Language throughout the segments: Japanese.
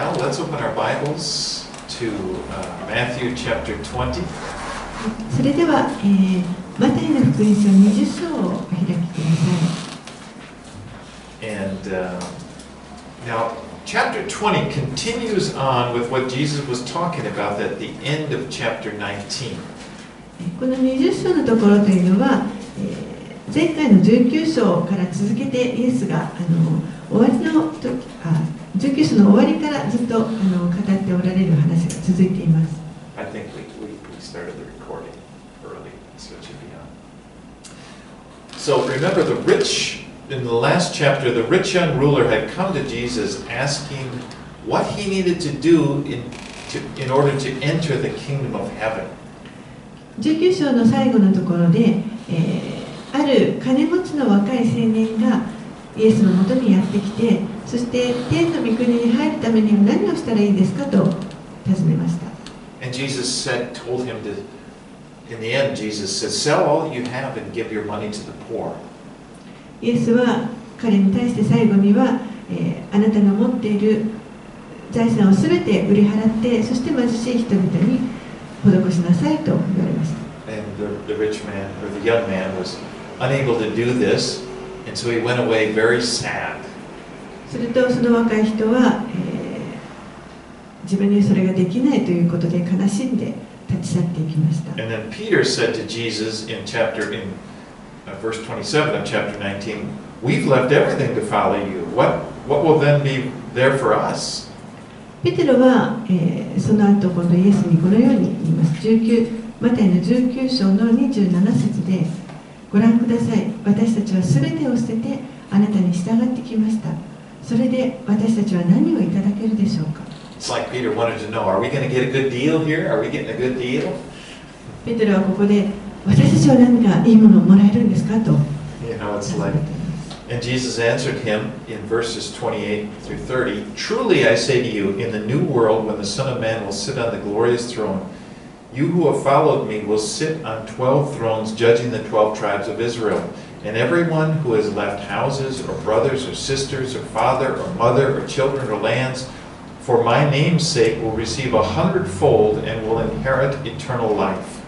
now, let's open our Bibles to Matthew chapter 20. それでは、マタイの福音書20章をお開きください。 And now, chapter 20 continues on with what Jesus was talking about at the end of chapter 19. この20章のところというのは、前回の19章から続けてイエスが終わりの時19章の終わりからずっと語っておられる話が続いています。 I think we started the recording early, so it should be on. So remember in the last chapter, the rich young ruler had come to Jesus asking what he needed to do in order to enter the kingdom of heaven. 19章の最後のところで、ある金持ちの若い青年がイエスのもとにやってきて、そして天の御国に入るためには何をしたらいいですかと尋ねました。 And Jesus told him to, in the end, Jesus said, sell all you have and give your money to the poor. イエスは彼に対して最後には、あなたの持っている財産をすべて売り払って、そして貧しい人々に施しなさいと言われました。 And the rich man, or the young man, was unable to do this, and so he went away very sad. するとその若い人は、自分にそれができないということで悲しんで立ち去っていきました。 And then Peter said to Jesus in verse 27 of chapter 19, we've left everything to follow you. What will then be there for us? ペテロは、その後今度イエスにこのように言います。マタイの19章の27節で、ご覧ください。私たちはすべてを捨ててあなたに従ってきました。それで私たちは何をいただけるでしょうか。 It's like Peter wanted to know, are we going to get a good deal here? Are we getting a good deal? ペテロはここで、私たちは何かいいものをもらえるんですかと。 It's like, and Jesus answered him in verses 28 through 30, truly I say to you, in the new world, when the Son of Man will sit on the glorious throne, you who have followed me will sit on 12 thrones, judging the 12 tribes of Israel. And everyone who has left houses, or brothers, or sisters, or father, or mother, or children, or lands, for my name's sake will receive 100-fold and will inherit eternal life.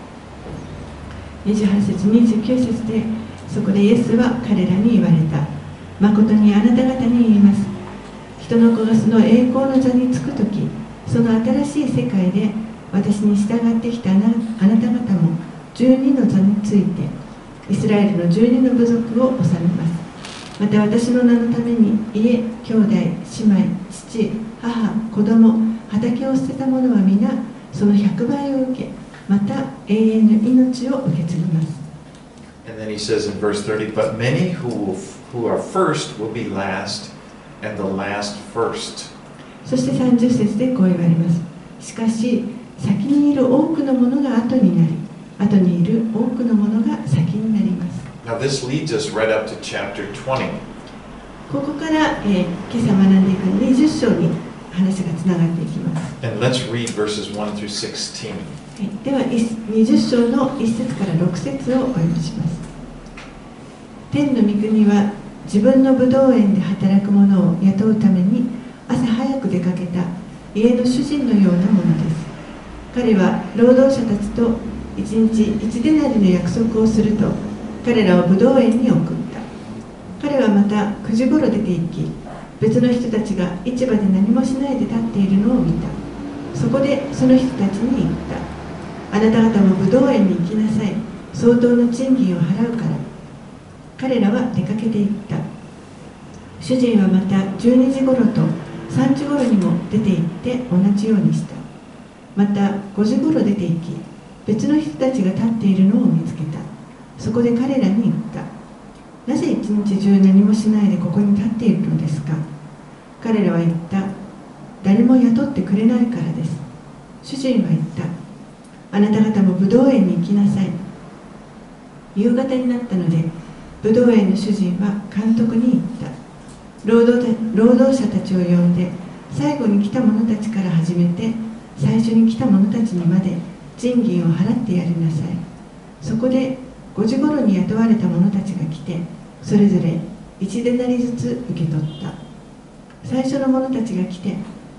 28節、29節で、そこでイエスは彼らに言われた。誠にあなた方に言います。人の子がその栄光の座につくとき、その新しい世界で私に従ってきたあなた方も12の座について、イスラエルの12の部族を治めます。また私の名のために家、兄弟、姉妹、父、母、子供、畑を捨てた者は皆その100倍を受け、また永遠の命を受け継ぎます。 And then he says in verse 30, but many who are first will be last, and the last first. そして30節でこう言われます。しかし、先にいる多くのものが後になり、後にいる多くのものが先になります。 Now this leads us right up to chapter 20. ここから、今朝学んでいく20章に話がつながっていきます。 And let's read verses 1 through 16. では20章の1節から6節をお読みします。天の御国は自分の葡萄園で働く者を雇うために朝早く出かけた家の主人のようなものです。彼は労働者たちと1日1デナリの約束をすると彼らを葡萄園に送った。彼はまた9時頃出て行き、別の人たちが市場で何もしないで立っているのを見た。そこでその人たちに言った。あなた方も葡萄園に行きなさい。相当の賃金を払うから。彼らは出かけていった。主人はまた12時頃と3時頃にも出て行って同じようにした。また5時頃出て行き、別の人たちが立っているのを見つけた。そこで彼らに言った。なぜ一日中何もしないでここに立っているのですか。彼らは言った。誰も雇ってくれないからです。主人は言った。あなた方も葡萄園に行きなさい。夕方になったので、葡萄園の主人は監督に言った。労働者たちを呼んで、最後に来た者たちから始めて、最初に来た者たちにまで賃金を払ってやりなさい。そこで5時頃に雇われた者たちが来て、それぞれ1デナリずつ受け取った。最初の者たちが来て、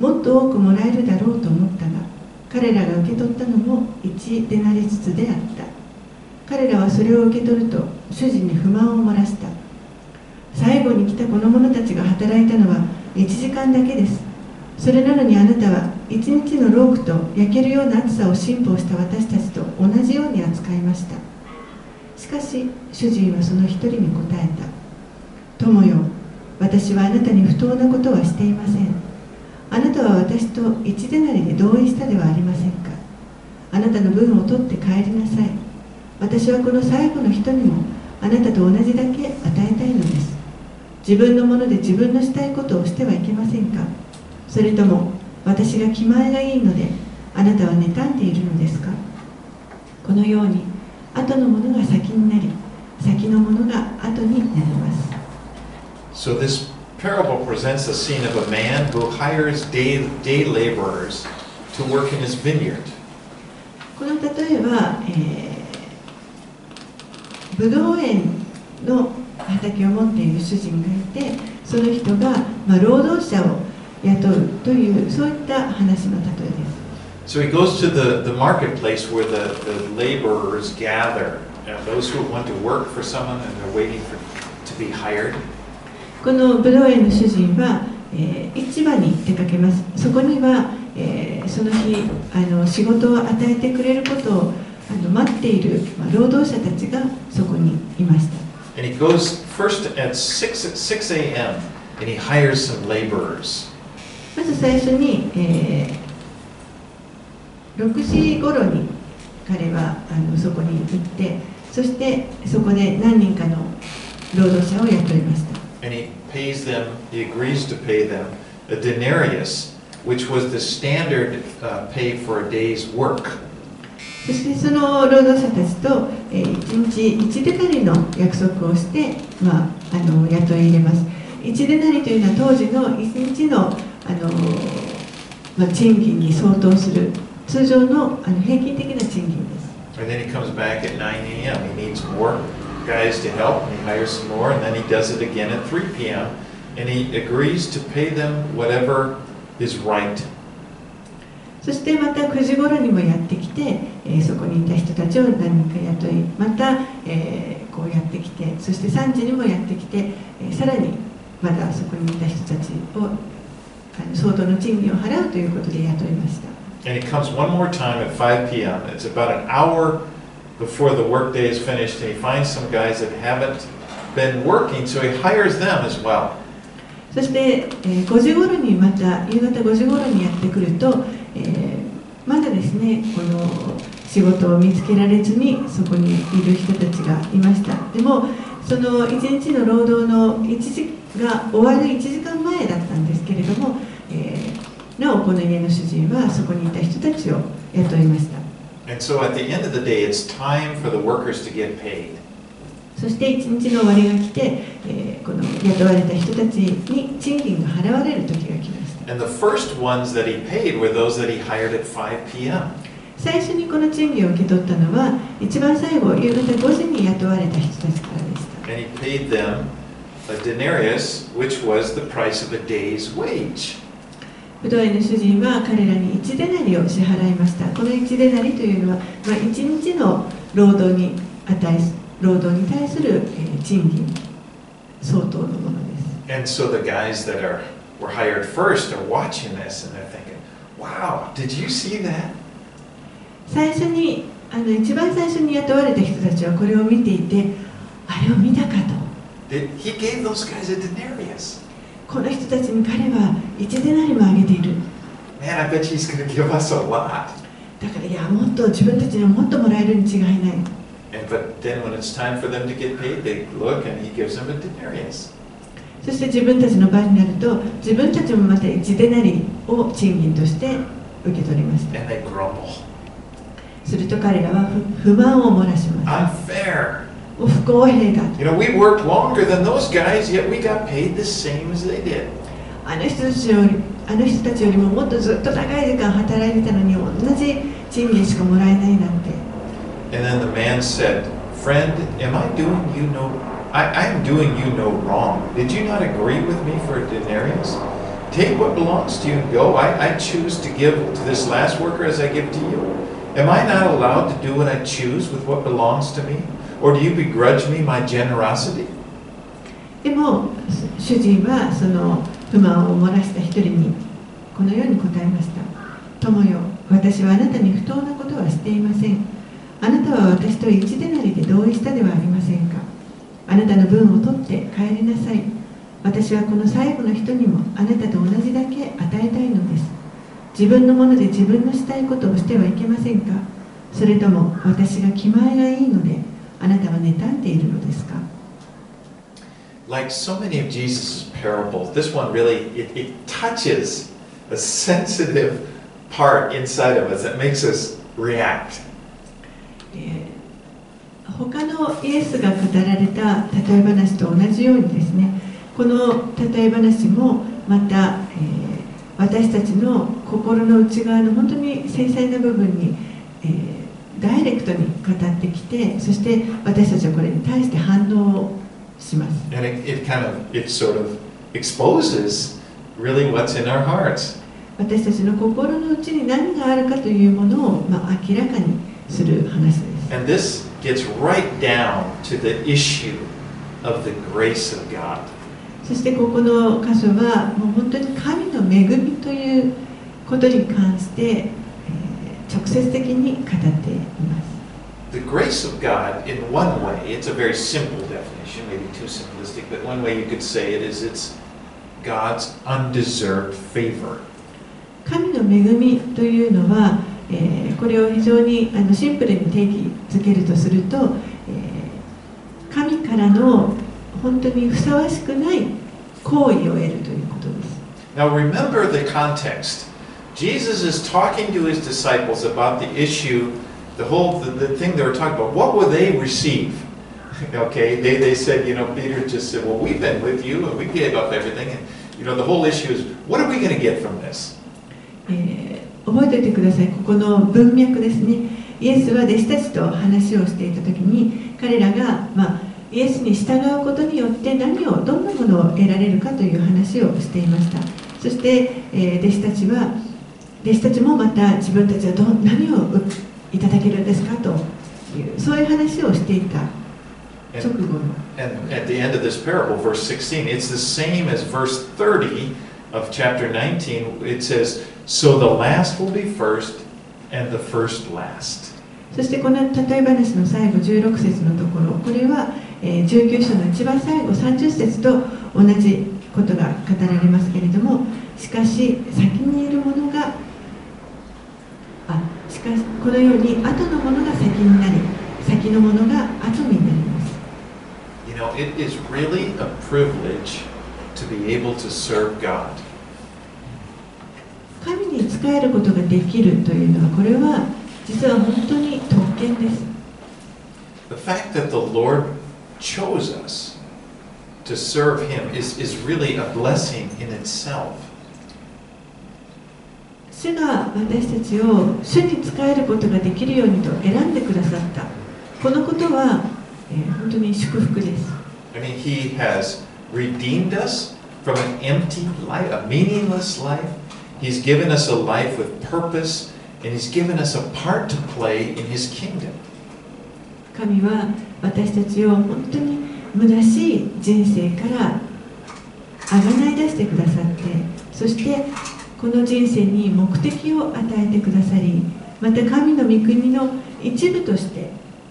もっと多くもらえるだろうと思ったが、彼らが受け取ったのも1デナリずつであった。彼らはそれを受け取ると主人に不満を漏らした。最後に来たこの者たちが働いたのは1時間だけです。それなのにあなたは一日の労苦と焼けるような暑さを信奉した私たちと同じように扱いました。しかし主人はその一人に答えた。友よ、私はあなたに不当なことはしていません。あなたは私と一デナリで同意したではありませんか。あなたの分を取って帰りなさい。私はこの最後の人にもあなたと同じだけ与えたいのです。自分のもので自分のしたいことをしてはいけませんか。それとも私が気前がいいのであなたは妬んでいるのですか。このように後のものが先になり、先のものが後になります。 So this parable presents a scene of a man who hires day laborers to work in his vineyard. この例えは、ブドウ園の畑を持っている主人がいて、その人が、労働者を雇うというそういった話の例えです。 So he goes to the marketplace where the laborers gather, those who want to work for someone and they're waiting to be hired. このブドウ園の主人は、市場に出かけます。そこには、その日仕事を与えてくれることを待っている、労働者たちがそこにいました。 And he goes first at 6 a.m. and he hires some laborers. まず最初に、6時頃に彼はそこに行って、そしてそこで何人かの労働者を雇いました。 And he agrees to pay them a denarius, which was the standard pay for a day's work. そしてその労働者たちと1日1デナリの約束をして、雇い入れます。1デナリというのは当時の1日の賃金に相当する通常の平均的な賃金です。 And then he comes back at 9 a.m. He needs more guys to help, and he hires some more, and then he does it again at 3 p.m. and he agrees to pay them whatever is right. そしてまた9時頃にもやってきて、そこにいた人たちを何人か雇い、また、こうやってきて、そして3時にもやってきて、さらにまだそこにいた人たちを相当の賃金を払うということで雇いました。 And he comes one more time at 5 p.m. It's about an hour before the workday is finished, and he finds some guys that haven't been working, so he hires them as well. そして、5時頃にまた夕方5時頃にやってくると、まだですねこの仕事を見つけられずにそこにいる人たちがいました。でもその1日の労働のが終わる1時間前だったんですけれども、なおこの家の主人はそこにいた人たちを雇いました。 And so at the end of the day, it's time for the workers to get paid. そして1日の終わりが来て、この雇われた人たちに賃金が払われる時が来ました。 And the first ones that he paid were those that he hired at 5 p.m. 最初にこの賃金を受け取ったのは一番最後夕方5時に雇われた人たちからでした。 And he paid them a denarius, which was the price of a day's wage. ブドウ園の主人は彼らに1デナリを支払いました。この1デナリというのは、1日の労働に対する賃金相当のものです。 And so the guys that were hired first are watching this and they're thinking, wow, did you see that? 一番最初に雇われた人たちはこれを見ていて、あれを見たかと。 He gave those guys a denarius. この人たちに彼は1デナリもあげている。 Man, I bet he's going to give us a lot. だからいや、もっと自分たちにはもっともらえるに違いない。 But then when it's time for them to get paid, they look and he gives them a denarius. そして自分たちの番になると、自分たちもまた1デナリを賃金として受け取りました。 And they grumble. すると彼らは不満を漏らします。 Unfair. 不公平だ。 You know, we worked longer than those guys, yet we got paid the same as they did. あの人たちよりももっとずっと長い時間働いてたのに同じ賃金しかもらえないなんて。 And then the man said, "Friend, am I doing you no? I am doing you no wrong. Did you not agree with me for a denarius?" take what belongs to you and go. I choose to give to this last worker as I give to you. Am I not allowed to do what I choose with what belongs to me? Or do you begrudge me my generosity? でも主人はその不満を漏らした一人にこのように答えました。友よ、私はあなたに不当なことはしていません。あなたは私と一デナリで同意したではありませんか。あなたの分を取って帰りなさい。私はこの最後の人にもあなたと同じだけ与えたいのです。自分のもので自分のしたいことをしてはいけませんか。それとも私が気前がいいのであなたは妬んでいるのですか。 Like so many of Jesus' parables, this one really, it touches a sensitive part inside of us that makes us react. 他のイエスが語られた例え話と同じようにですね、この例え話もまた、私たちの心の内側の本当に繊細な部分に、ダイレクトに語ってきて、そして私たちはこれに対して反応をします。 And it sort of exposes really what's in our hearts. 私たちの心の内に何があるかというものを、明らかにする話です。 And this gets right down to the issue of the grace of God. そしてここの箇所はもう本当に神の恵みということに関して、直接的に語っています。 The grace of God, in one way, it's a very simple definition, maybe too simplistic, but one way you could say it is it's God's undeserved favor. 神の恵みというのは、これを非常にシンプルに定義づけるとすると、神からの本当にふさわしくない行為を得るということです。 Now remember the context. Jesus is talking to his disciples about the issue, the thing they were talking about. What will they receive? Okay, they said, Peter just said, well, we've been with you and we gave up everything. And, the whole issue is, what are we going to get from this? 覚えておいてください。ここの文脈ですね。イエスは弟子たちと話をしていたときに、彼らが、イエスに従うことによってどんなものを得られるかという話をしていました。そして、弟子たちもまた自分たちは何をいただけるんですかというそういう話をしていた直後の。 And at the end of this parable, verse 16, it's the same as verse 30 of chapter 19. It says, so the last will be first and the first last. そしてこの例え話の最後16節のところ、これは19章の一番最後30節と同じことが語られますけれども、しかし先にいるものがこのように後のものが先になり、先のものが後になります。 It is really a privilege to be able to serve God. 神に仕えることができるというのは、これは実は本当に特権です。 The fact that the Lord chose us to serve Him is really a blessing in itself. 主が私たちを主に仕えることができるようにと選んでくださった。このことは、本当に祝福です。 I mean, He has redeemed us from an empty life, a meaningless life. He's given us a life with purpose, and He's given us a part to play in His kingdom. 神は私たちを本当に虚しい人生からあがない出してくださって、そしてこの人生に目的を与えてくださり、また神の御国の一部として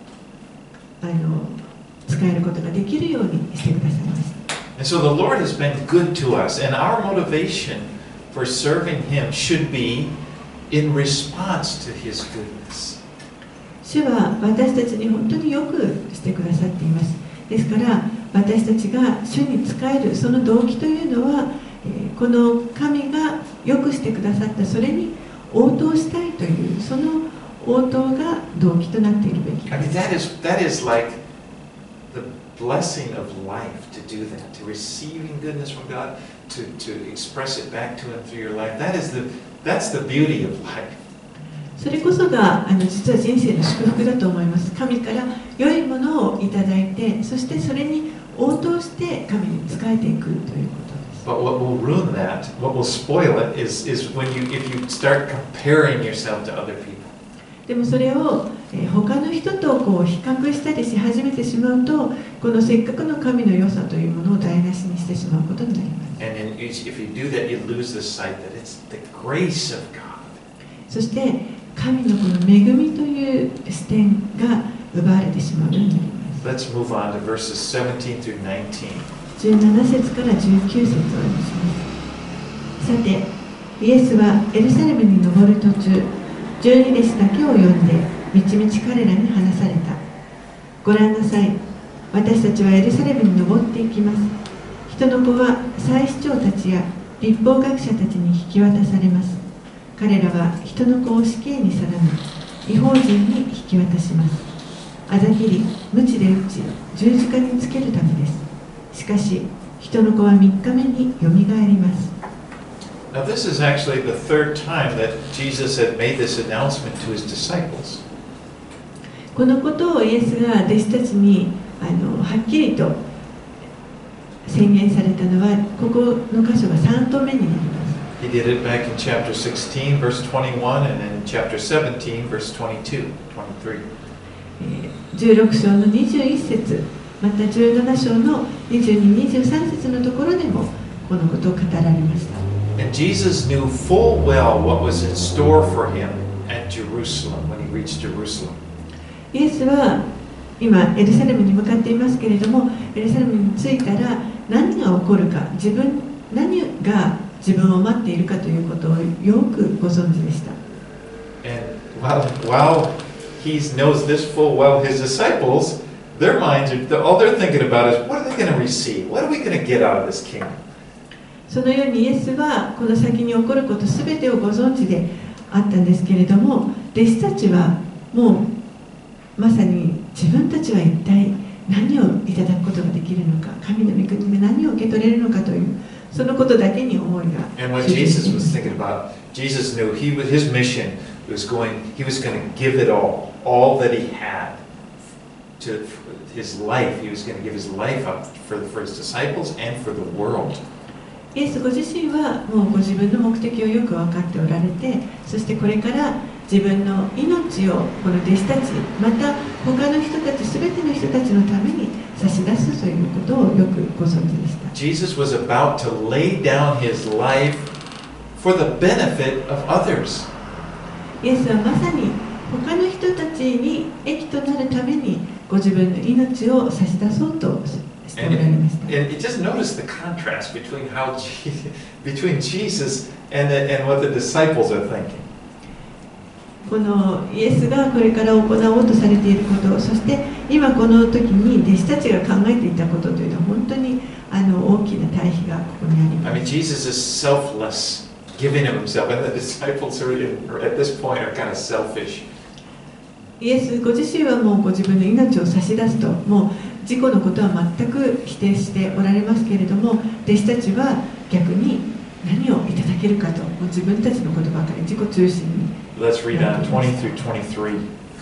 使えることができるようにしてくださいました。 And so the Lord has been good to us, and our motivation for serving Him should be in response to His goodness. 主は私たちに本当によくしてくださっています。ですから私たちが主に仕えるその動機というのは、この神がよくしてくださったそれに応答したいというその応答が動機となっているべきです。 I mean, that is like the blessing of life to do that, to receiving goodness from God, to express it back to Him through your life. That's the beauty of life. それこそが実は人生の祝福だと思います。神から良いものをいただいて、そしてそれに応答して神に仕えていくということです。 But what will ruin that, what will spoil it, is when if you start comparing yourself to other people. でもそれを他の人とこう比較したりし始めてしまうと、このせっかくの神の良さというものを台無しにしてしまうことになります。 And then if you do that, you lose the sight that it's the grace of God. そして神のこの恵みという視点が奪われてしまうようになります。 Let's move on to verses 17 through 19. 17節から19節をお読みします。さて、イエスはエルサレムに登る途中、12弟子だけを呼んで、みちみち彼らに話された。ご覧なさい、私たちはエルサレムに登っていきます。人の子は祭司長たちや律法学者たちに引き渡されます。彼らは人の子を死刑に定め、異邦人に引き渡します。あざきり、鞭で打ち、十字架につけるためです。しかし、人の子は3日目によみがえります。 Now, this is actually the third time that Jesus had made this announcement to his disciples. このことをイエスが弟子たちにはっきりと宣言されたのは、ここの箇所が3度目になります。 He did it back in chapter 16, verse 21, and then in chapter 17, verse 22, 23. 16章の21節、また17章の22、23節のところでもこのことを語られました。 And Jesus knew full well what was in store for him at Jerusalem when he reached Jerusalem. イエスは今エルサレムに向かっていますけれども、エルサレムに着いたら何が起こるか、何が自分を待っているかということをよくご存知でした。 And while he knows this full well, his disciples, their minds are all they're thinking about is what are they going to receive? What are we going to get out of this kingdom? そのようにイエスはこの先に起こることすべてをご存知であったんですけれども、弟子たちはもうまさに自分たちは一体何をいただくことができるのか、神の御国で何を受け取れるのかというそのことだけに思いが。 And what Jesus was thinking about, Jesus knew his mission was he was going to give it all that he had to his life. He was going to give his life up for his disciples and for the world. イエスご自身はもうご自分の目的をよく分かっておられて、そしてこれから自分の命をこの弟子たち、また他の人たち、すべての人たちのために差し出すということをよくご存知でした。 Jesus was about to lay down his life for the benefit of others. イエスはまさに他の人たちに益となるためにご自分の命を差し出そうとしておられました。 And you just notice the contrast between Jesus and what the disciples are thinking. このイエスがこれから行おうとされていること、そして今この時に弟子たちが考えていたことというのは本当に大きな対比がここにあります。 I mean, Jesus is selfless, giving of himself, and the disciples are at this point are kind of selfish. イエスご自身はもうご自分の命を差し出すと、もう自己のことは全く否定しておられますけれども、弟子たちは逆に何をいただけるかと、もう自分たちのことばかり自己中心に。 Let's read on 20 through 23.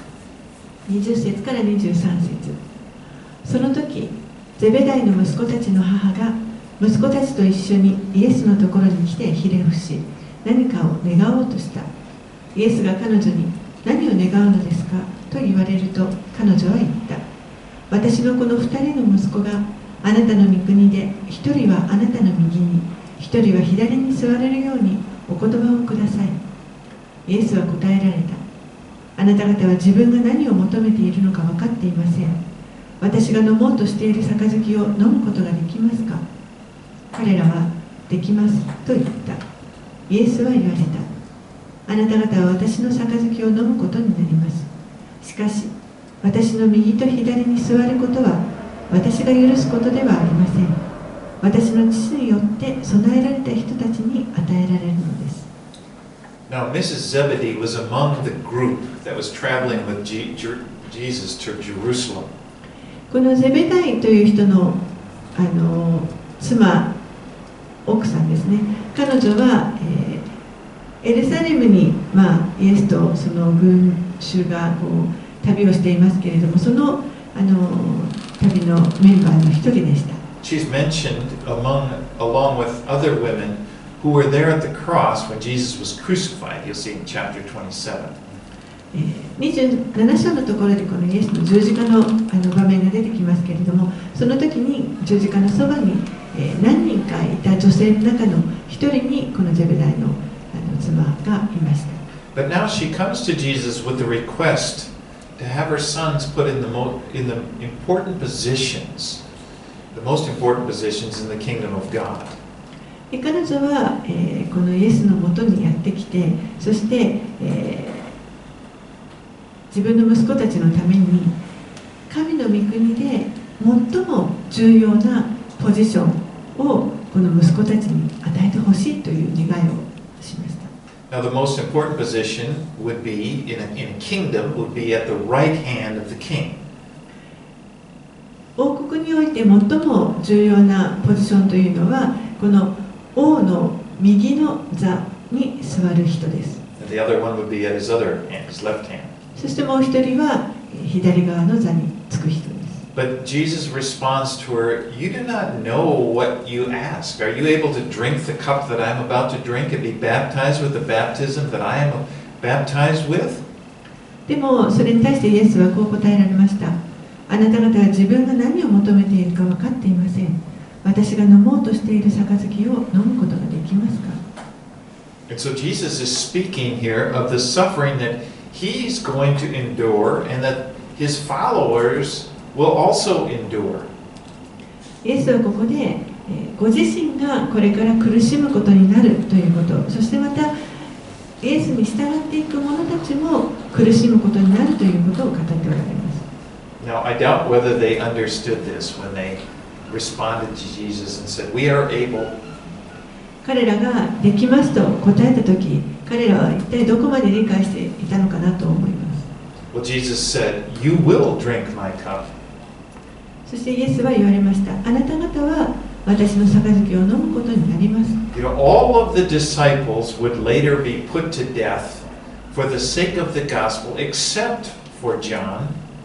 20節から23節。その時、ゼベダイの息子たちの母が息子たちと一緒にイエスのところに来てひれ伏し、何かを願おうとした。イエスが彼女に何を願うのですかと言われると、彼女は言った。私のこの2人の息子があなたの御国で、1人はあなたの右に、1人は左に座れるようにお言葉をください。イエスは答えられた。あなた方は自分が何を求めているのか分かっていません。私が飲もうとしている杯を飲むことができますか？彼らはできますと言った。イエスは言われた。あなた方は私の杯を飲むことになります。しかし、私の右と左に座ることは私が許すことではありません。私の父によって備えられた人たちに与えられるのです。 Now, Mrs. Zebedee was among the group that was traveling with Jesus to Jerusalem. このゼベダイという人の、妻、奥さんですね。彼女は、エルサレムに、イエスとその群衆がこう旅をしていますけれども、その、旅のメンバーの一人でした。 she's mentioned along with other women who were there at the cross when Jesus was crucified. You'll see in chapter 27. 27章のところでこのイエスの十字架の場面が出てきますけれども、その時に十字架のそばに何人かいた女性の中の一人にこのゼベダイの妻がいました。 But now she comes to Jesus with the request to have her sons put in the important positions, the most important positions in the kingdom of God. 彼女は、このイエスのもとにやってきて、そして、自分の息子たちのために神の御国で最も重要なポジションをこの息子たちに与えてほしいという願いをしました。 Now the most important position would be in a kingdom would be at the right hand of the king. 王国において最も重要なポジションというのはこの王の右の座に座る人です。 And the other one would be at his other hand, his left hand. そしてもう一人は左側の座につく人です。 But Jesus responds to her, "You do not know what you ask. Are you able to drink the cup that I am about to drink and be baptized with the baptism that I am baptized with?" でもそれに対してイエスはこう答えられました。あなた方は自分が何を求めているか分かっていません。私が飲もうとしている杯を飲むことができますか? And so Jesus is speaking here of the suffering that he's going to endure and that his followers will also endure. イエスはここでご自身がこれから苦しむことになるということ、そしてまたイエスに従っていく者たちも苦しむことになるということを語っておられます。 Now, I doubt whether they understood this when they responded to Jesus and said, "We are able." 彼らができますと答えたとき、彼らは一体どこまで理解していたのかなと思います。 Well, Jesus said, "You will drink my cup." そしてイエスは言われました。あなた方は私の杯を飲むことになります。 You know, all of the disciples would later be put to death for the sake of the gospel, except for John.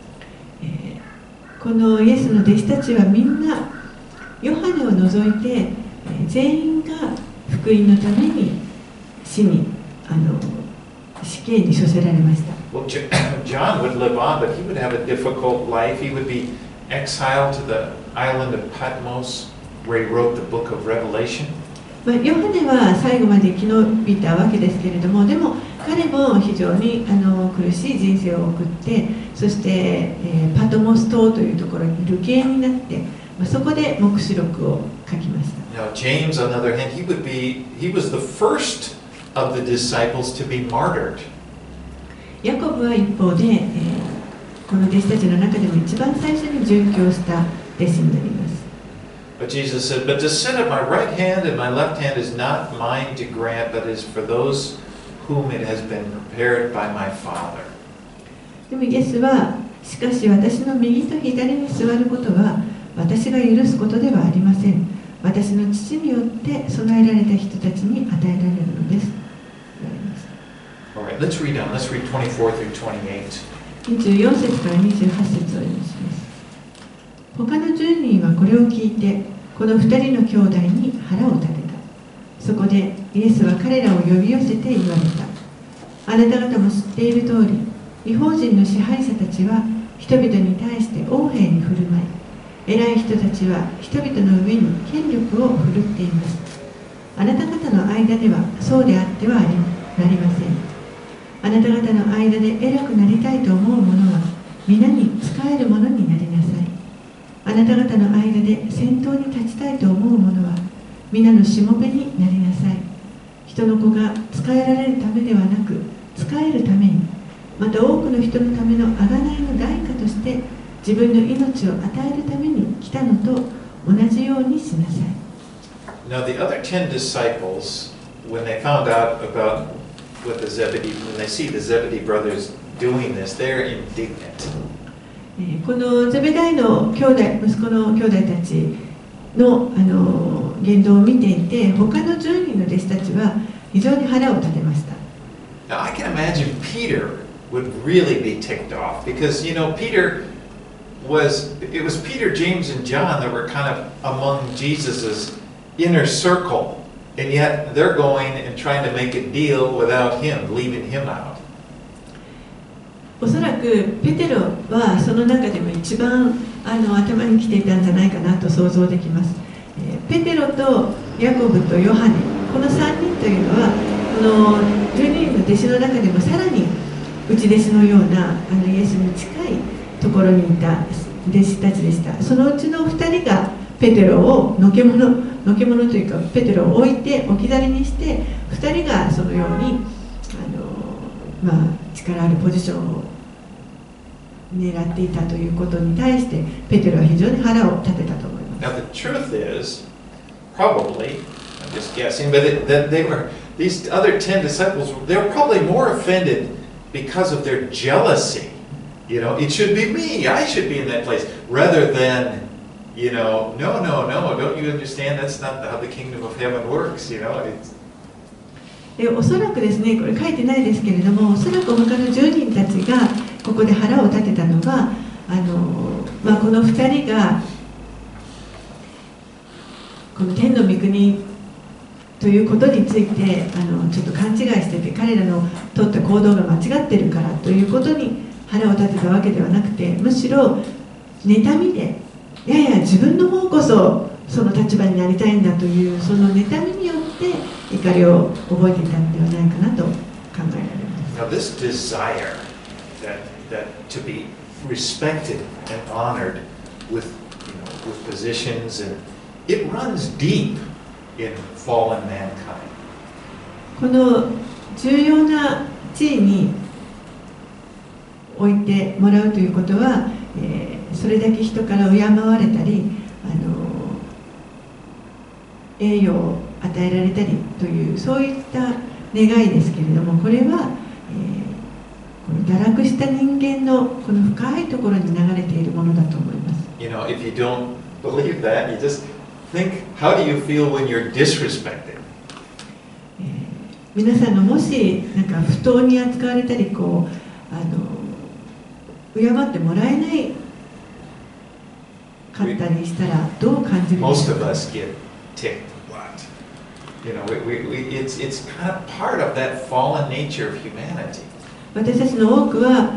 このイエスの弟子たちはみんなヨハネを除いて全員が福音のために死刑に処せられました。 Well, John would live on, but he would have a difficult life. He would be exiled to the island of Patmos, where he wrote the book of Revelation. ヨハネは最後まで生き延びたわけですけれども、でも彼も非常に苦しい人生を送って、そして、パトモス島というところに流刑になって、そこで黙示録を書きました。 Now, James, on the other hand, he was the first of the disciples to be martyred. ヤコブは一方で、この弟子たちの中でも一番最初に殉教した弟子になります。 But Jesus said, "But to sit at my right hand and my left hand is not mine to grant, but is for those whom it has been prepared by my Father." でもイエスは、しかし私の右と左に座ることは私が許すことではありません。私の父によって備えられた人たちに与えられるのです。 All right, let's read on. Let's read 24 through 28. 24節から28節を読みます。他の10人はこれを聞いて、この2人の兄弟に腹を立てた。そこでイエスは彼らを呼び寄せて言われた。あなた方も知っている通り、異邦人の支配者たちは人々に対して横柄に振る舞い、偉い人たちは人々の上に権力を振るっています。あなた方の間ではそうであってはなりません。あなた方の間で偉くなりたいと思う者は皆に仕える者になりなさい。あなた方の間で先頭に立ちたいと思う者は皆のしもべになりなさい。人の子が仕えられるためではなく仕えるために、また多くの人のための贖いの代価として自分の命を与えるために来たのと同じようにしなさい。 Now the other 10 disciples, when they found out about when they see the Zebedee brothers doing this, they're indignant. このゼベダイの息子の兄弟たちの、言動を見ていて、他の10人の弟子たちは非常に腹を立てました。 Now I can imagine Peter would really be ticked off because, you know, Peter it was Peter, James, and John that were kind of among Jesus's inner circle, and yet they're going and trying to make a deal without him, leaving him out. おそらくペテロはその中でも一番頭にきていたんじゃないかなと想像できます。ペテロとヤコブとヨハネ、この3人というのはこの12人の弟子の中でもさらに内弟子のようなイエスに近いところにいた弟子たちでした。そのうちの2人がペテロをのけものというかペテロを置いて置き去りにして2人がそのように力あるポジションを狙っていたということに対してペテロは非常に腹を立てたと思います。 Now the truth is, probably, I'm just guessing, but these other 10 disciples, they were probably more offended because of their jealousy. You know, it should be me, I should be in that place, rather than, you know, no, don't you understand? That's not how the kingdom of heaven works, you know. おそらくですね、これ書いてないですけれども、おそらく他の10人たちがここで腹を立てたのはこの2人がこの天の御国ということについてちょっと勘違いしてて彼らの取った行動が間違ってるからということに腹を立てたわけではなくて、むしろ妬みでやや自分の方こそその立場になりたいんだというその妬みによって怒りを覚えていたのではないかなと考えられます。 Now this desire that to be respected and honored with positions, and it runs deep in fallen mankind. この重要な地位に置いてもらうということは、それだけ人から敬われたり栄誉を与えられたりというそういった願いですけれども、これは、この堕落した人間のこの深いところに流れているものだと思います。 You know, if you don't believe that, you just think, how do you feel when you're disrespected? 皆さんがもしなんか不当に扱われたり敬ってもらえないかったりしたらどう感じるでしょうか。 Most of us get ticked. What? You know, it's kind of part of that fallen nature of humanity. 私たちの多くは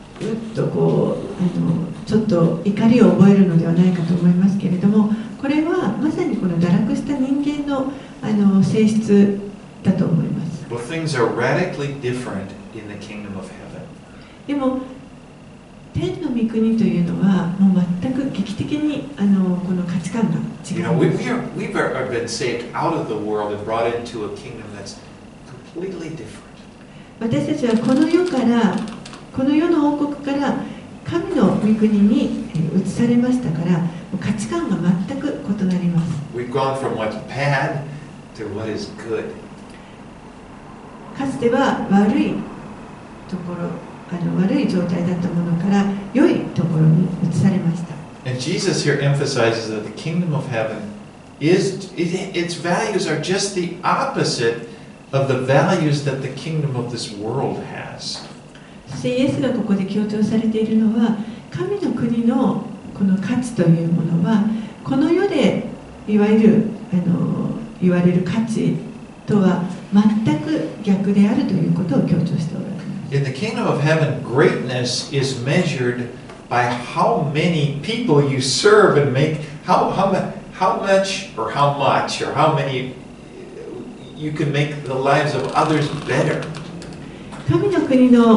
ちょっと怒りを覚えるのではないかと思いますけれども、これはまさにこの堕落した人間の性質だと思います。 Well, things are radically different in the kingdom of heaven. でも天の御国というのはもう全く劇的にこの価値観が違います。 We've been saved out of the world and brought into a kingdom that's completely different. 私たちはこの世の王国から神の御国に移されましたから価値観が全く異なります。 We've gone from what's bad to what is good. かつては悪いところ悪い状態だったものから良いところに移されました。 And Jesus here emphasizes that the kingdom of heaven its values are just the opposite of the values that the kingdom of this world has. そしてイエスがここで強調されているのは神の国のこの価値というものはこの世でいわゆる言われる価値とは全く逆であるということを強調しておられます。 In the kingdom of heaven, greatness is measured by how many people you serve and make how much or how many you can make the lives of others better. 神の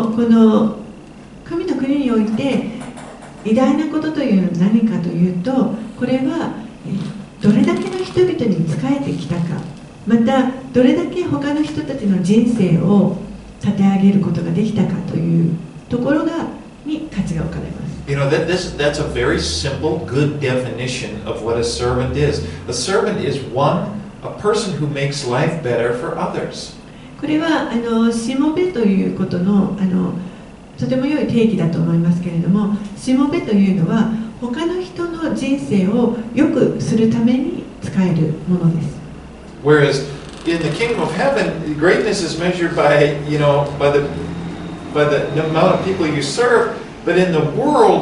国において偉大なことというのは何かというと、これはどれだけの人々に仕えてきたか、またどれだけ他の人たちの人生を立て上げることができたかというところに価値が置かれます。 You know, that's a very simple, good definition of what a servant is. A servant is a person who makes life better for others. これはしもべということのとても良い定義だと思いますけれども、しもべというのは他の人の人生を良くするために使えるものです。 Whereas in the kingdom of heaven, greatness is measured by the amount of people you serve. But in the world,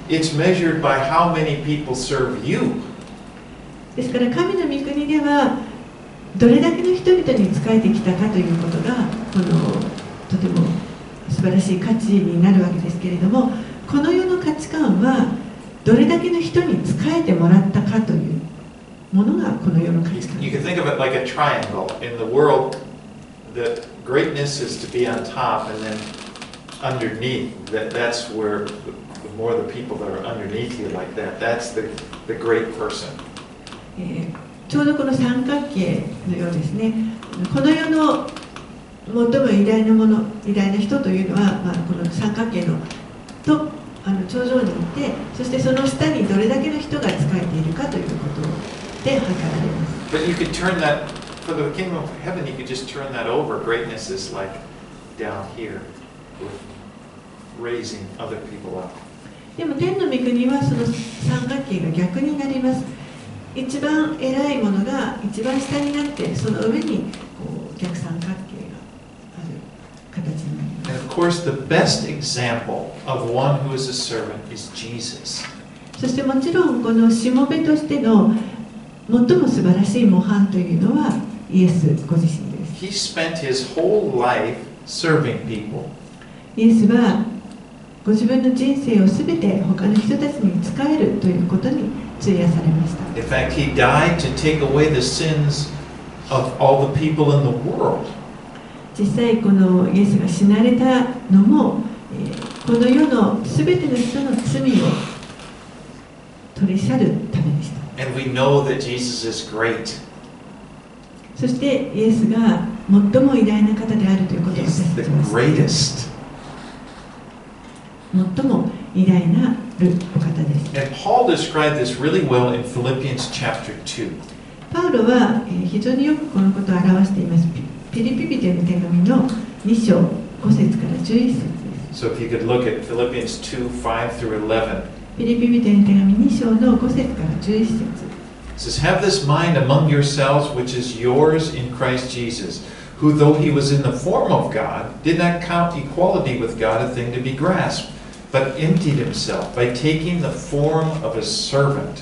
it's measured by how many people serve you. ですから神の御国ではどれだけの人々に仕えてきたかということがとても素晴らしい価値になるわけですけれども、この世の価値観はどれだけの人に仕えてもらったかというものがこの世の価値観。 You can think of it like a triangle. In the world, the greatness is to be on top, and then underneath, that's where the more the people that are underneath you like that, that's the great person. ちょうどこの三角形のようですね。この世の最も偉大なもの、偉大な人というのは、この三角形の頂上にいて、そしてその下にどれだけの人が仕えているかということで測られます。 But you could turn that, for the kingdom of heaven, you could just turn that over. Greatness is like down here, with raising other people up. でも天の御国はその三角形が逆になります。一番偉いものが一番下になって、その上に逆三角形がある形になります。 And of course, the best example of one who is a servant is Jesus. そしてもちろんこのしもべとしての最も素晴らしい模範というのはイエスご自身です。 He spent his whole life serving people. イエスはご自分の人生をすべて他の人たちに仕えるということに費やされました。 In fact, he died to take away the sins of all the people in the world. 実際このイエスが死なれたのも、この世のすべての人の罪を取り去るためでした。 And we know that Jesus is great. そしてイエスが最も偉大な方であるということを He's 私 the たちは知っています。 greatest. 最も偉大なるお方です。 And Paul described this really well in Philippians chapter 2. パウロは非常によくこのことを表しています。ピリピ人への手紙の2章5節から11節です。 So if you could look at Philippians 2, 5 through 11. ピリピ人への手紙2章の5節から11節。 It says, Have this mind among yourselves, which is yours in Christ Jesus, who, though he was in the form of God, did not count equality with God a thing to be grasped, but emptied himself by taking the form of a servant.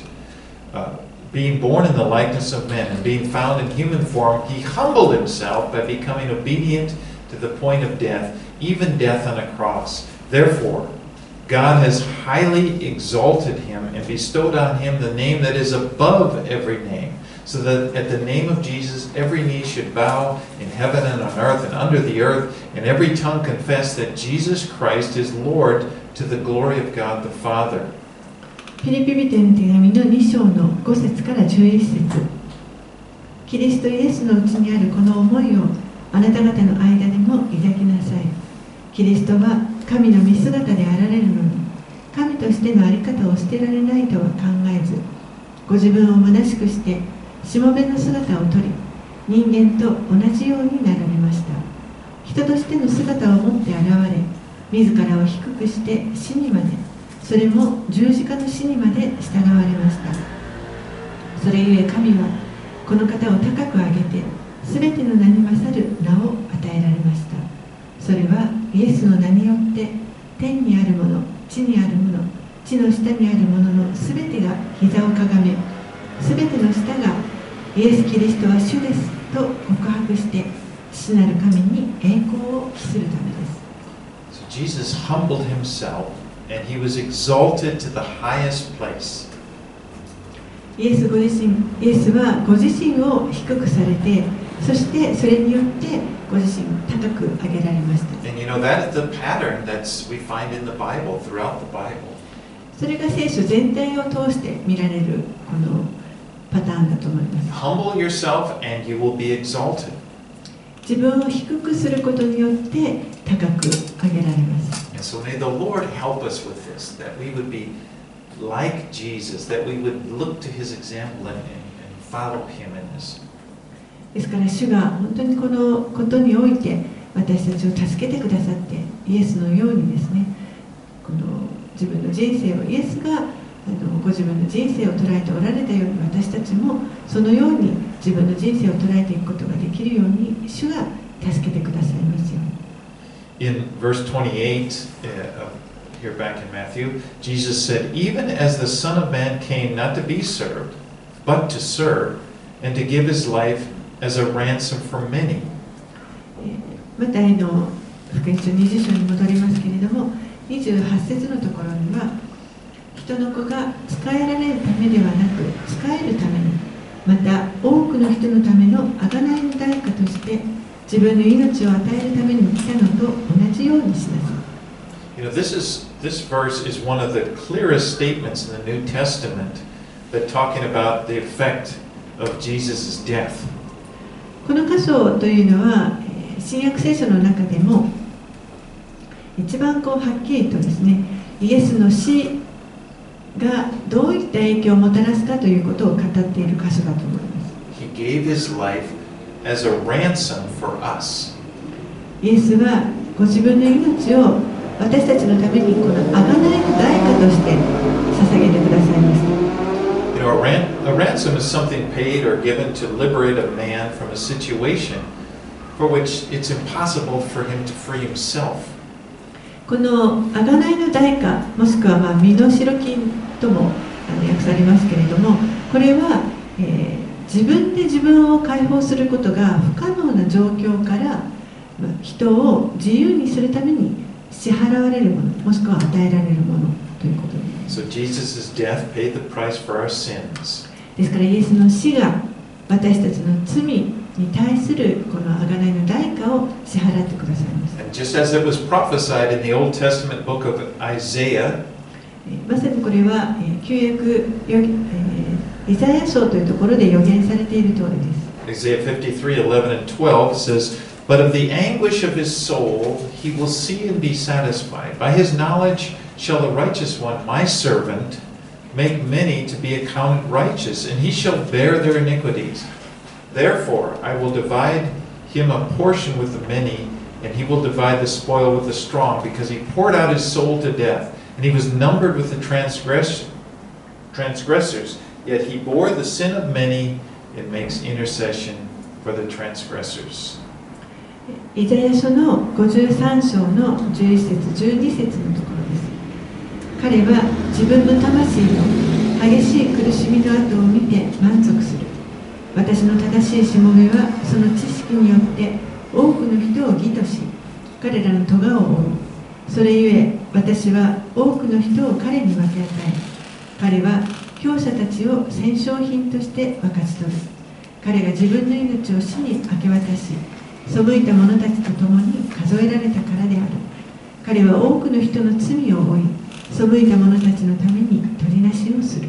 Being born in the likeness of men and being found in human form, he humbled himself by becoming obedient to the point of death, even death on a cross. Therefore, God has highly exalted him and bestowed on him the name that is above every name, so that at the name of Jesus every knee should bow in heaven and on earth and under the earth, and every tongue confess that Jesus Christ is Lord, to the glory of God the Father. ピリピ人への手紙の2章の5節から11節。キリストイエスのうちにあるこの思いをあなた方の間でも抱きなさい。キリストは神の見姿であられるのに、神としての在り方を捨てられないとは考えず、ご自分を虚しくしてしもべの姿をとり、人間と同じようになられました。人としての姿を持って現れ、自らを低くして死にまで、それも十字架の死にまで従われました。それゆえ神はこの方を高く上げて、すべての名に勝る名を与えられました。それはイエスの名によって天にあるもの、地にあるもの、地の下にあるもののすべてが膝をかがめ、すべての舌がイエス・キリストは主ですと告白して、父なる神に栄光を期するためです。 So Jesus humbled himself and he was exalted to the highest place. イエスはご自身を低くされて、そしてそれによってご自身を高く上げられました。 And you know, that is the pattern that we find in the Bible, throughout the Bible. それが聖書全体を通して見られるこのパターンだと思います。 Humble yourself and you will be exalted. 自分を低くすることによって高く上げられます。 And so may the Lord help us with this, that we would be like Jesus, that we would look to his example and follow him in this. ですから主が本当にこのことにおいて私たちを助けてくださって、イエスのようにですね、この自分の人生をイエスがご自分の人生を捉えておられたように、私たちもそのように自分の人生を捉えていくことができるように主が助けてくださいますように。 In verse 28 of here back in Matthew, Jesus said, "Even as the Son of Man came not to be served, but to serve, and to give his life as a ransom for many." マタイの福音書20章に戻りますけれども、28節のところには、人の子が仕えられるためではなく、仕えるために、また多くの人のための贖いの代価として、自分の命を与えるために来たのと同じようにしなさい。 You know, this verse is one of the clearest statements in the New Testament that talking about the effect of Jesus' death. この箇所というのは、新約聖書の中でも一番はっきりとですね、イエスの死がどういった影響をもたらすかということを語っている箇所だと思います。 He gave his life as a ransom for us. イエスはご自分の命を私たちのためにこの贖いの代価として捧げてくださいました。 You know, a ransom is something paid or given to liberate a man from a situation for which it's impossible for him to free himself. この贖いの代価、もしくは身代金とも訳されますけれども、これは、自分で自分を解放することが不可能な状況から人を自由にするために支払われるもの、もしくは与えられるものということです。 So Jesus' death paid the price for our sins. ですからイエスの死が私たちの罪に対するこの贖いの代価を支払ってくださいます。 And just as it was prophesied in the Old Testament book of Isaiah, まさにこれは旧約イザヤ書というところで予言されている通りです。 Isaiah 53:11 and 12 says, "But of the anguish of his soul he will see and be satisfied. By his knowledge shall the righteous one, my servant, make many to be accounted righteous, and he shall bear their iniquities. Therefore I will divide him a portion with the many, and he will divide the spoil with the strong, because he poured out his soul to death, and he was numbered with the transgressors. Yet he bore the sin of many and makes intercession for the transgressors." イザヤ書の53章の11節12節のところです。彼は自分の魂の激しい苦しみの跡を見て満足する。私の正しいしもべはその知識によって多くの人を義とし、彼らの咎を負う。それゆえ私は多くの人を彼に分け与え、彼は強者たちを戦勝品として分かち取る。彼が自分の命を死に明け渡し、背いた者たちと共に数えられたからである。彼は多くの人の罪を負い、背いた者たちのために取りなしをする。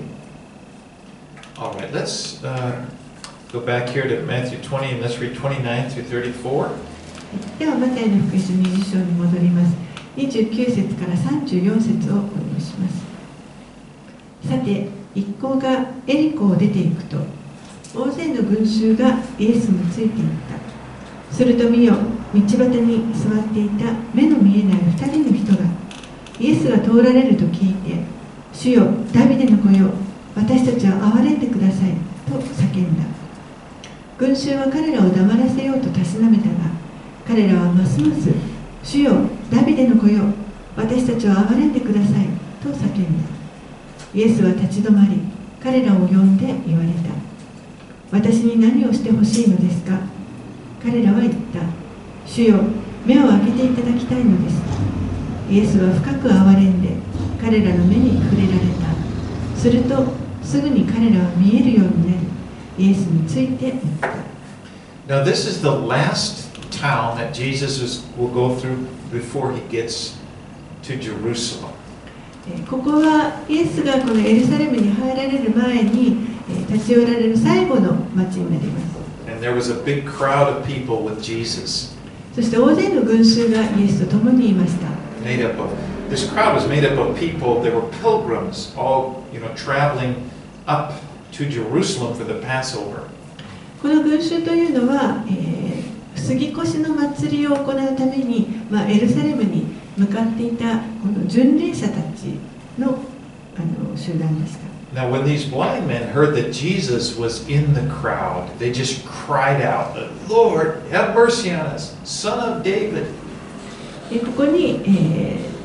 All right, let's go back here to Matthew 20 and let's read 29 through 34. ではマタイの福音書20章に戻ります。29節から34節をお読みします。さて、一行がエリコを出ていくと、大勢の群衆がイエスについていった。すると見よ、道端に座っていた目の見えない2人の人が、イエスが通られると聞いて、主よ、ダビデの子よ、私たちを憐れんでください、と叫んだ。群衆は彼らを黙らせようとたしなめたが、彼らはますます、主よ、ダビデの子よ、私たちを憐れんでください、と叫んだ。イエスは立ち止まり、彼らを呼んで言われた。私に何をしてほしいのですか？彼らは言った。主よ、目を開けていただきたいのです。イエスは深く憐れんで、彼らの目に触れられた。すると、すぐに彼らは見えるようになり、イエスについて言った。 Now this is the last town that Jesus will go through before he gets to Jerusalem. ここはイエスがこのエルサレムに入られる前に立ち寄られる最後の町になります。 And there was a big crowd of people with Jesus. そして大勢の群衆がイエスと共にいました。 This crowd was made up of people. They were pilgrims, all traveling up to Jerusalem for the Passover. この群衆というのは、杉越の祭りを行うために、エルサレムに向かっていたこの巡礼者たちの、集団でした。 Now, when these blind men heard that Jesus was in the crowd, they just cried out, "Lord, have mercy on us, Son of David." ここに、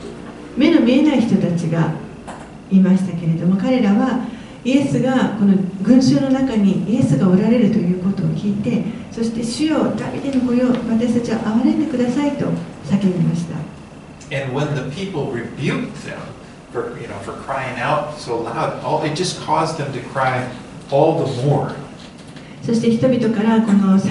目の見えない人たちがいましたけれども、彼らはイエスがこの群衆の中にイエスがおられるということを聞いて、そして主よダビデの子よ、私たちは憐れんでくださいと叫びました。 And when the people rebuked them for crying out so loud, it just caused them to cry all the more. そして人々からこの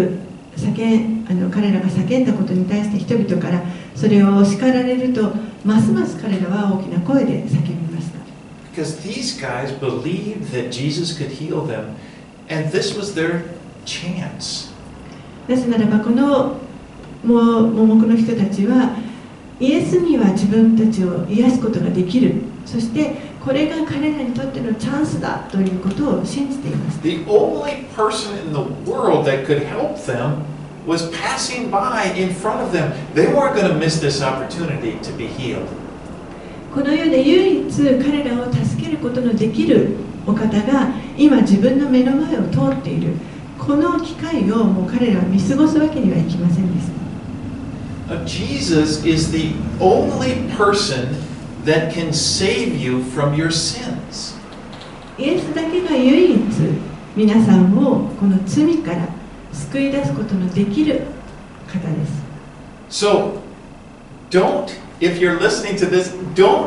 彼らが叫んだことに対して人々からそれを叱られると、ますます彼らは大きな声で叫びました。 Because these guys believed that Jesus could heal them, and this was their chance. なぜならばこの盲目の人たちはイエスには自分たちを癒すことができる、そしてこれが彼らにとってのチャンスだということを信じています。 The only person in the world that could help them was passing by in front of them. They weren't going to miss this opportunity to be healed. この世で唯一彼らを助けることのできるお方が今自分の目の前を通っている、この機会をもう彼らは見過ごすわけにはいきませんでした。 Jesus is the only person that can save you from your sins. イエスだけが唯一皆さんをこの罪から救い出すことのできる方です。 So, if you're listening to this, don't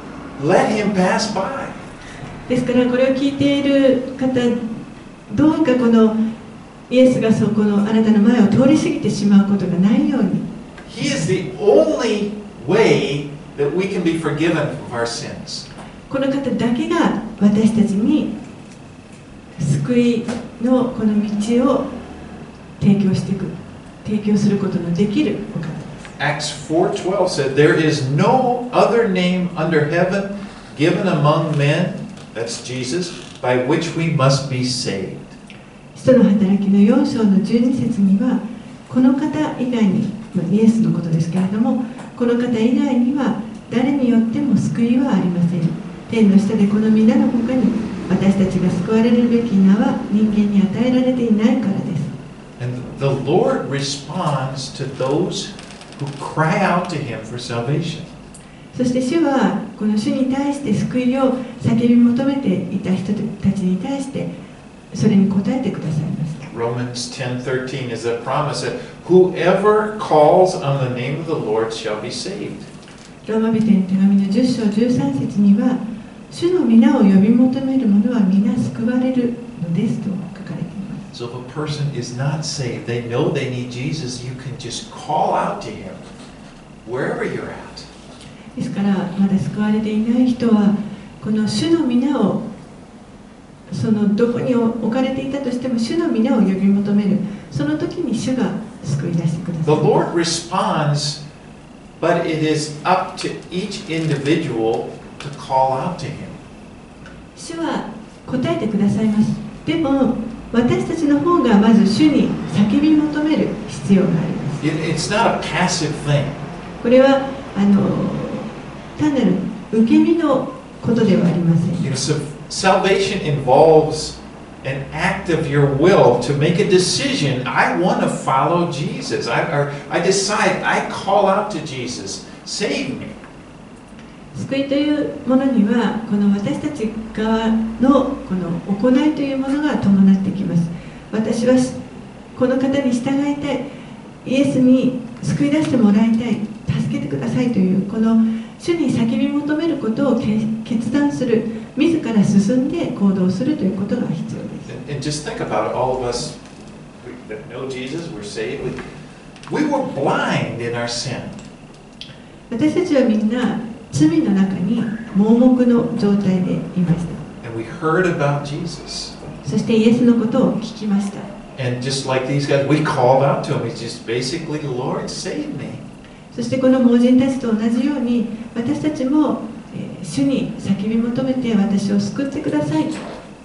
let him pass by. ですからこれを聞いている方、どうかこのイエスがこのあなたの前を通り過ぎてしまうことがないように。 He is the only way that we can be forgiven of our sins. この方だけが私たちに救いのこの道を提供することのできるお方です。 Acts 4:12 said, "There is no other name under heaven given among men," that's Jesus, "by which we must be saved." 使徒の働きの4章の12節には、この方以外に、イエスのことですけれども、この方以外には誰によっても救いはありません。天の下でこの皆の他に私たちが救われるべき名は人間に与えられていないからです。 And the Lord responds to those who cry out to Him for salvation. そして主はこの主に対して救いを叫び求めていた人たちに対してそれに応えてくださいました。 Romans 10:13 is a promise that whoever calls on the name of the Lord shall be saved. ローマ人への手紙の10章13節には、主の皆を呼び求める者は皆救われるのですと書かれています。 So if a person is not saved, they know they need Jesus, you can just call out to Him wherever you're at. ですからまだ救われていない人はこの主の皆をそのどこに置かれていたとしても主の皆を呼び求める、その時に主が救い出してください。 The Lord responds, but it is up to each individual to call out to Him. 主は答えてくださいます。でも私たちの方がまず主に叫び求める必要があります。 It's not a passive thing. これは単なる受け身のことではありません。 Salvation involves an act of your will to make a decision. I want to follow Jesus. I decide, I call out to Jesus. Save me. 救いというものにはこの私たち側のこの行いというものが伴ってきます。私はこの方に従いたい、イエスに救い出してもらいたい、助けてくださいというこの主に叫び求めることを決断する、自ら進んで行動するということが必要です。 And just think about it, all of us that know Jesus, we're saved. We were blind in our sin. 私たちはみんな罪の中に盲目の状態でいました。 And we heard about Jesus. そしてイエスのことを聞きました。 And just like these guys, we called out to Him. He's just basically, Lord, save me. そしてこの盲人たちと同じように私たちも主に叫び求めて私を救ってください。 And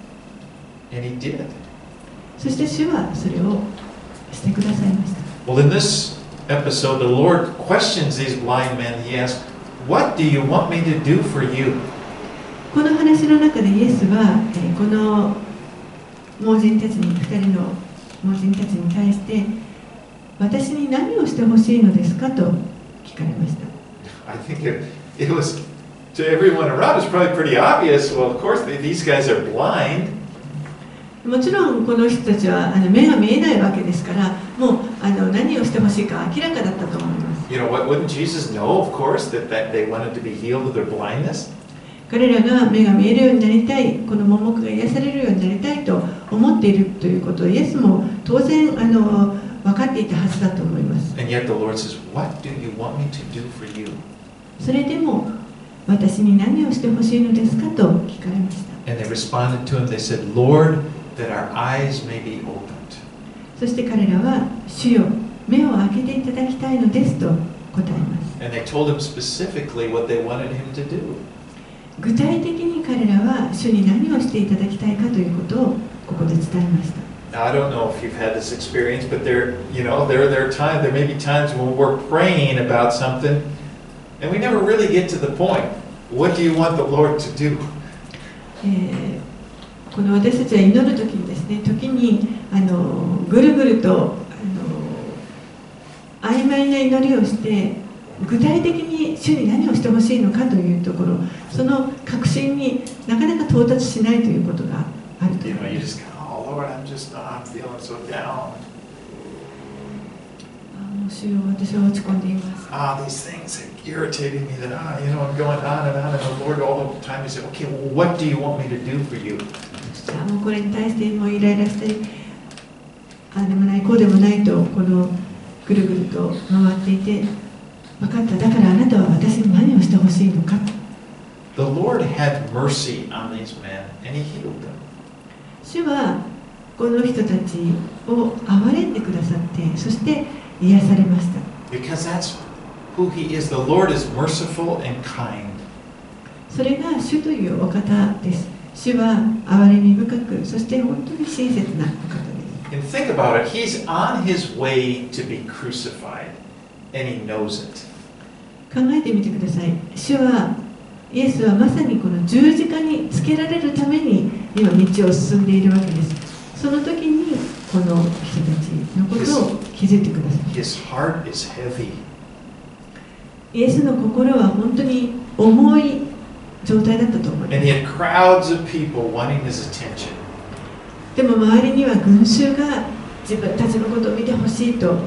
He did. そして主はそれをしてくださいました。 Well, in this episode, the Lord questions these blind men. He asks, "What do you want me to do for you?" この話の中でイエスはこの盲人たちに2人の盲人たちに対して私に何をしてほしいのですかと聞かれました。 I think it was, to everyone around, it's probably pretty obvious. Well, of course, these guys are blind. もちろんこの人たちは目が見えないわけですから、もう何をしてほしいか明らかだったと思います。 You know, wouldn't Jesus know, of course, that they wanted to be healed of their blindness? 彼らが目が見えるようになりたい、この盲目が癒されるようになりたいと思っているということをイエスも当然分かっていたはずだと思います。 And yet the Lord says, "What do you want me to do for you?" それでも私に何をしてほしいのですかと聞かれました。 And they responded to him. They said, "Lord, that our eyes may be opened." そして彼らは主よ、目を開けていただきたいのですと答えます。 And they told him specifically what they wanted him to do. 具体的に彼らは主に何をしていただきたいかということをここで伝えました。 Now, I don't know if you've had this experience, but there may be times when we're praying about something, and we never really get to the point. What do you want the Lord to do? この私たちは祈るときにですね、時にぐるぐると曖昧な祈りをして、具体的に主に何をしてほしいのかというところ、その確信になかなか到達しないということがあると思います。 You just go, "Oh Lord, I'm feeling so down." もう主よ、私は落ち込んでいます。 These things are irritating me that I'm going on and on, and the Lord all the time He said, "Okay, well, what do you want me to do for you?" もうこれに対してもうイライラしたり、ああでもないこうでもないとこのぐるぐると回っていて、分かった、だからあなたは私に何をしてほしいのか。 The Lord had mercy on these men, and He healed them. 主はこの人たちを憐れんでくださって、そして癒されました。 Because that's who He is. The Lord is merciful and kind. それが主というお方です。主は憐れみ深く、そして本当に親切なお方です。 And think about it. He's on His way to be crucified, and He knows it. 考えてみてください。イエスはまさにこの十字架につけられるために今道を進んでいるわけです。その時にこの人たちのことを気づいてください。 His heart is heavy. イエスの心は本当に重い状態だったと思います。 And he had crowds of people wanting his attention. でも周りには群衆が自分たちのことを見てほしいと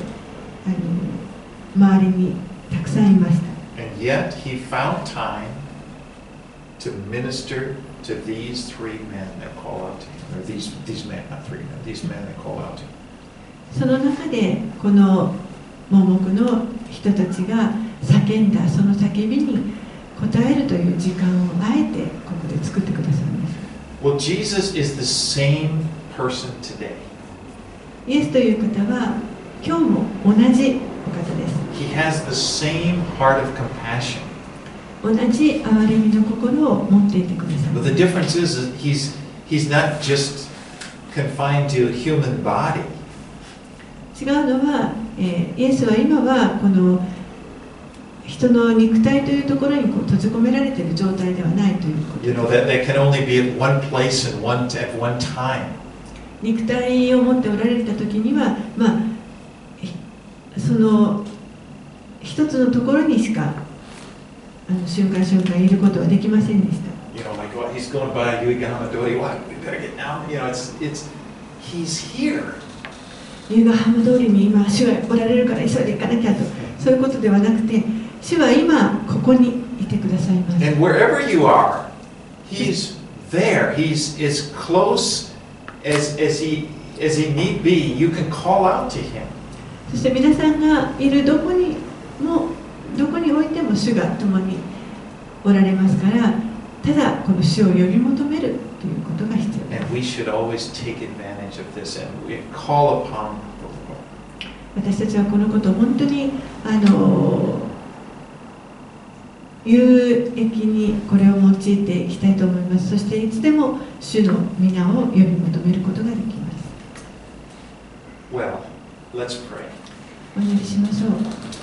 周りにたくさんいました。 And yet he found time to minister to these three men that call out to him, or these men, not three men, these men that call out to him. その中でこの盲目の人たちが叫んだその叫びに応えるという時間をあえてここで作ってくださいます。 Well, Jesus is the same person today. イエスという方は今日も同じお方です。 He has the same heart of compassion. 同じ憐れみの心を持っていてください。 But the difference is he's not just confined to a human body. 違うのは、イエスは今はこの人の肉体というところに閉じ込められている状態ではないということです。 You know, that they can only be at one place and at one time. 肉体を持っておられた時には、その一つのところにしか瞬間瞬間いることはできませんでした。 You know, like what he's going by, you get on the door, what? We better get down. You know, he's here. ユーガハム通りに今主がおられるから急いで行かなきゃと、そういうことではなくて、主は今ここにいてくださいます。 And wherever you are, he's there. He's as close as he need be. You can call out to him. そして皆さんがいるどこにおいても主が共におられますから、ただこの主を呼び求めるということが必要です。 And we should always take advantage of this and we call upon the Lord. 私たちはこのことを本当に有益にこれを用いていきたいと思います。そしていつでも主の皆を呼び求めることができます。 Well, let's pray. お祈りしましょう。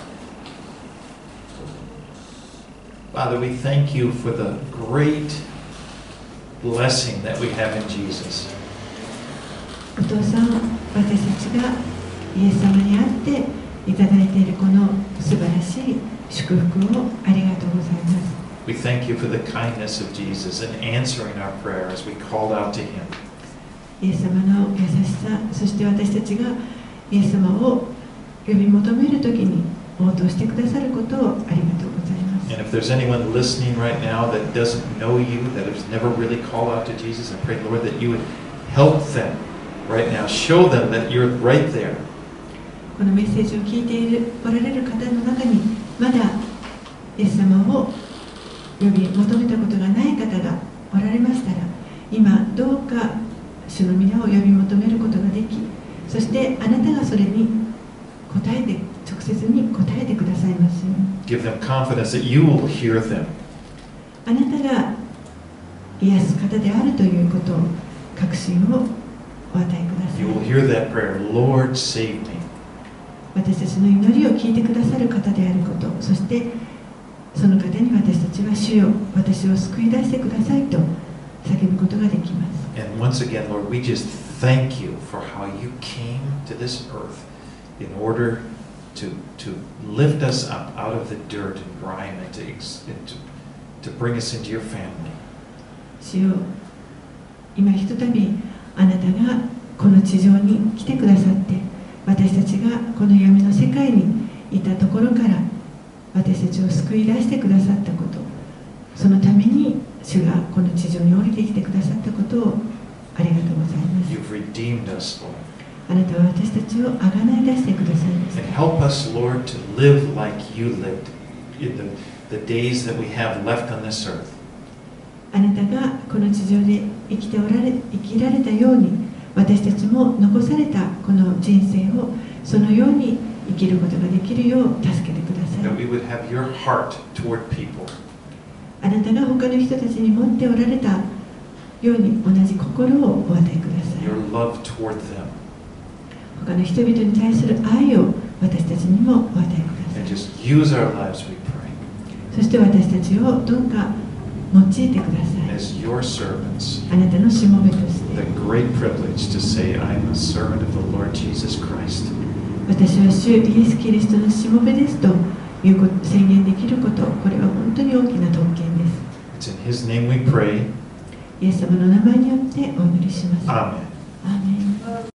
Father, we thank you for the great blessing that we have in Jesus. お父さん、私たちがイエス様に会っていただいているこの素晴らしい祝福をありがとうございます。 We thank you for the kindness of Jesus in answering our prayer as we called out to him. イエス様の優しさ、そして私たちがイエス様を呼び求めるときに応答してくださることをありがとうございます。 And if there's anyone listening right now that doesn't know you, that has never really called out to Jesus, I pray, Lord, that you would help them right now. Show them that you're right there. このメッセージを聞いておられる方の中にまだイエス様を呼び求めたことがない方がおられましたら、今どうか主の皆を呼び求めることができ、そしてあなたがそれに答えて、直接に答えてくださいますように。 Give them confidence that you will hear them. あなたが癒す方であるということを、確信をお与えください。 You will hear that prayer, Lord, save me. 私たちの祈りを聞いてくださる方であること、そしてその方に私たちは主よ、私を救い出してくださいと叫ぶことができます。 And once again, Lord, we just thank you for how you came to this earth in order to lift us up out of the dirt and grime and to bring us into your family. 主よ、今ひとたびあなたがこの地上に来てくださって、私たちがこの闇の世界にいたところから私たちを救い出してくださったこと、そのために主がこの地上に降りてきてくださったことをありがとうございます。 You've redeemed us, Lord. あなたは私たちをあがない出してくださいました。 And help us, Lord, to live like you lived in the days that we have left on this earth. あなたがこの地上で生きられたように、私たちも残されたこの人生をそのように生きることができるよう助けてください。 That we would have your heart toward people. あなたが他の人たちに持っておられたように同じ心をお与えください。 Your love toward them. 他の人々に対する愛を私たちにもお与えくださ And い。 just use our lives, we pray, そして私たちをどうか用いてください。 as your servants. あなたのしもべとして、 The great privilege to say, I'm a servant of the Lord Jesus Christ. 私は主イエス・キリストのしもべですということ、宣言できること、これは本当に大きな特権です。 It's in His name we pray. イエス様の名前によってお祈りします。 Amen. アーメン。